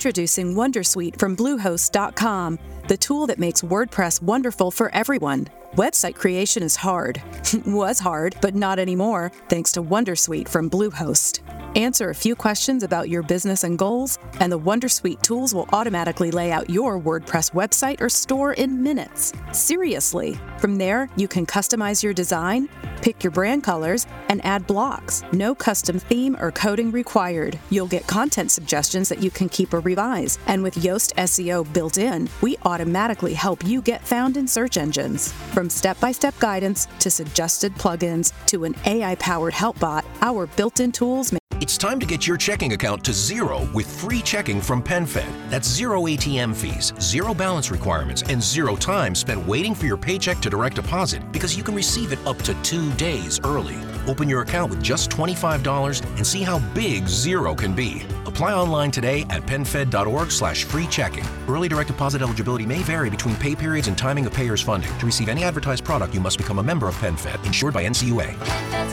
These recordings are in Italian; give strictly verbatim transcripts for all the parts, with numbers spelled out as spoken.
Introducing Wondersuite from Bluehost dot com, the tool that makes WordPress wonderful for everyone. Website creation is hard. Was hard, but not anymore, thanks to Wondersuite from Bluehost. Answer a few questions about your business and goals, and the Wondersuite tools will automatically lay out your WordPress website or store in minutes. Seriously. From there, you can customize your design, pick your brand colors, and add blocks. No custom theme or coding required. You'll get content suggestions that you can keep or revise. And with Yoast S E O built in, we automatically help you get found in search engines. From step-by-step guidance to suggested plugins to an A I-powered help bot, our built-in tools make It's time to get your checking account to zero with free checking from PenFed. That's zero A T M fees, zero balance requirements, and zero time spent waiting for your paycheck to direct deposit because you can receive it up to two days early. Open your account with just twenty-five dollars and see how big zero can be. Apply online today at penfed.org slash free checking. Early direct deposit eligibility may vary between pay periods and timing of payers' funding. To receive any advertised product, you must become a member of PenFed, insured by N C U A.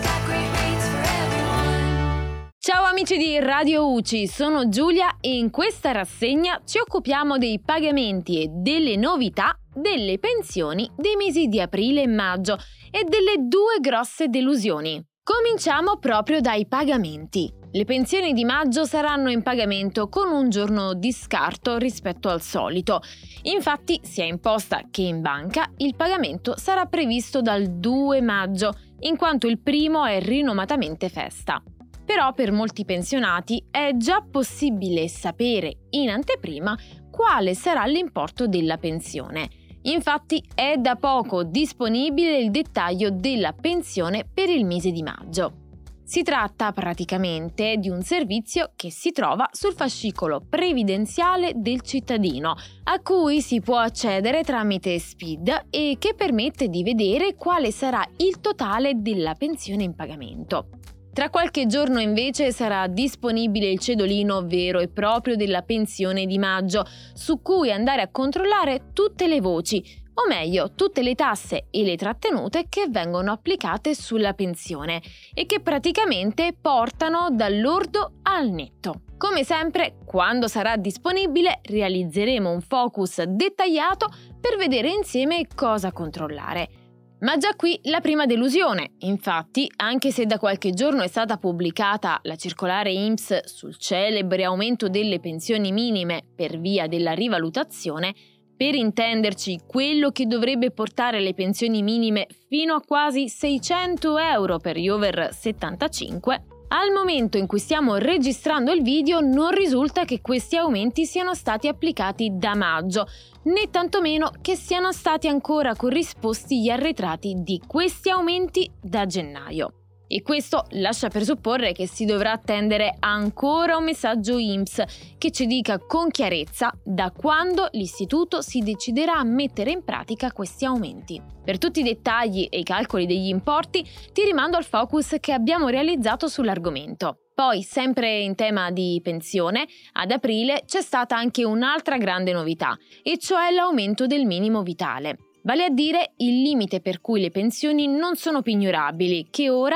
Ciao amici di Radio U C I, sono Giulia e in questa rassegna ci occupiamo dei pagamenti e delle novità delle pensioni dei mesi di aprile e maggio e delle due grosse delusioni. Cominciamo proprio dai pagamenti. Le pensioni di maggio saranno in pagamento con un giorno di scarto rispetto al solito. Infatti, sia in posta che in banca, il pagamento sarà previsto dal due maggio, in quanto il primo è rinomatamente festa. Però per molti pensionati è già possibile sapere in anteprima quale sarà l'importo della pensione. Infatti è da poco disponibile il dettaglio della pensione per il mese di maggio. Si tratta praticamente di un servizio che si trova sul fascicolo previdenziale del cittadino, a cui si può accedere tramite S P I D e che permette di vedere quale sarà il totale della pensione in pagamento. Tra qualche giorno invece sarà disponibile il cedolino vero e proprio della pensione di maggio, su cui andare a controllare tutte le voci, o meglio, tutte le tasse e le trattenute che vengono applicate sulla pensione e che praticamente portano dal lordo al netto. Come sempre, quando sarà disponibile, realizzeremo un focus dettagliato per vedere insieme cosa controllare. Ma già qui la prima delusione. Infatti, anche se da qualche giorno è stata pubblicata la circolare I N P S sul celebre aumento delle pensioni minime per via della rivalutazione, per intenderci quello che dovrebbe portare le pensioni minime fino a quasi seicento euro per gli over settantacinque, al momento in cui stiamo registrando il video non risulta che questi aumenti siano stati applicati da maggio, né tantomeno che siano stati ancora corrisposti gli arretrati di questi aumenti da gennaio. E questo lascia presupporre che si dovrà attendere ancora un messaggio I N P S che ci dica con chiarezza da quando l'istituto si deciderà a mettere in pratica questi aumenti. Per tutti i dettagli e i calcoli degli importi ti rimando al focus che abbiamo realizzato sull'argomento. Poi, sempre in tema di pensione, ad aprile c'è stata anche un'altra grande novità, e cioè l'aumento del minimo vitale. Vale a dire il limite per cui le pensioni non sono pignorabili, che ora,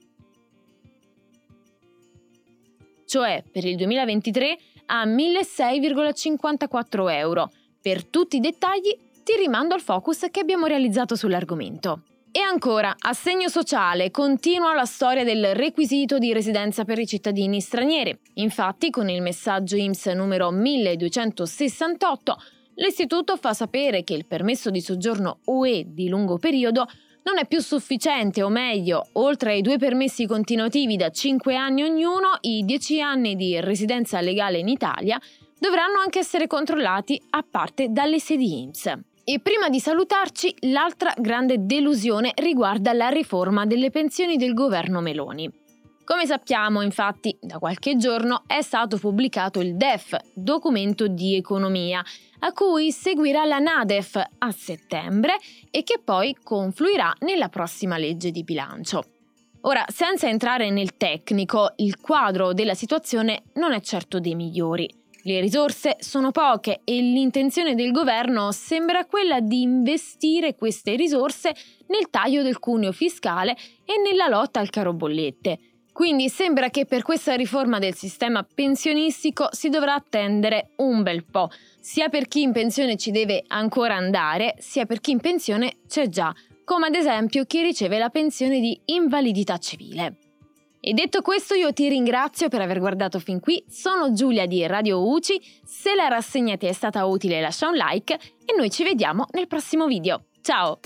cioè per il duemilaventitré, a milleseicento virgola cinquantaquattro euro. Per tutti i dettagli ti rimando al focus che abbiamo realizzato sull'argomento. E ancora, assegno sociale, continua la storia del requisito di residenza per i cittadini stranieri. Infatti, con il messaggio I N P S numero milleduecentosessantotto, l'istituto fa sapere che il permesso di soggiorno U E di lungo periodo non è più sufficiente, o meglio, oltre ai due permessi continuativi da cinque anni ognuno, i dieci anni di residenza legale in Italia dovranno anche essere controllati a parte dalle sedi I N P S. E prima di salutarci, l'altra grande delusione riguarda la riforma delle pensioni del governo Meloni. Come sappiamo, infatti, da qualche giorno è stato pubblicato il D E F, documento di economia, a cui seguirà la NADEF a settembre e che poi confluirà nella prossima legge di bilancio. Ora, senza entrare nel tecnico, il quadro della situazione non è certo dei migliori. Le risorse sono poche e l'intenzione del governo sembra quella di investire queste risorse nel taglio del cuneo fiscale e nella lotta al caro bollette. Quindi sembra che per questa riforma del sistema pensionistico si dovrà attendere un bel po', sia per chi in pensione ci deve ancora andare, sia per chi in pensione c'è già, come ad esempio chi riceve la pensione di invalidità civile. E detto questo io ti ringrazio per aver guardato fin qui, sono Giulia di Radio U C I, se la rassegna ti è stata utile lascia un like e noi ci vediamo nel prossimo video. Ciao!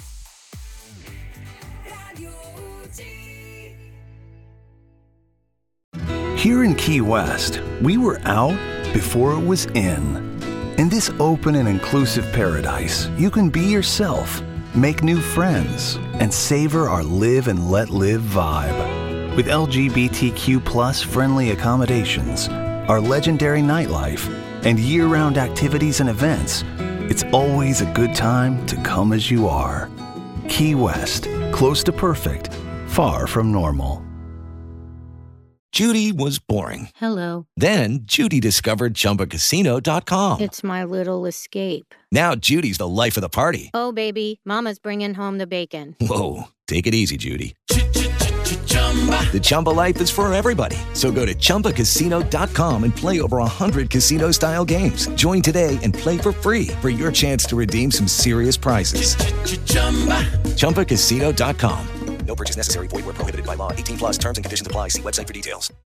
Here in Key West, we were out before it was in. In this open and inclusive paradise, you can be yourself, make new friends, and savor our live and let live vibe. With L G B T Q plus friendly accommodations, our legendary nightlife, and year-round activities and events, it's always a good time to come as you are. Key West, close to perfect, far from normal. Judy was boring. Hello. Then Judy discovered Chumba Casino dot com. It's my little escape. Now Judy's the life of the party. Oh, baby, mama's bringing home the bacon. Whoa, take it easy, Judy. The Chumba life is for everybody. So go to Chumba Casino dot com and play over one hundred casino-style games. Join today and play for free for your chance to redeem some serious prizes. Chumba Casino dot com. No purchase necessary. Void where prohibited by law. eighteen plus terms and conditions apply. See website for details.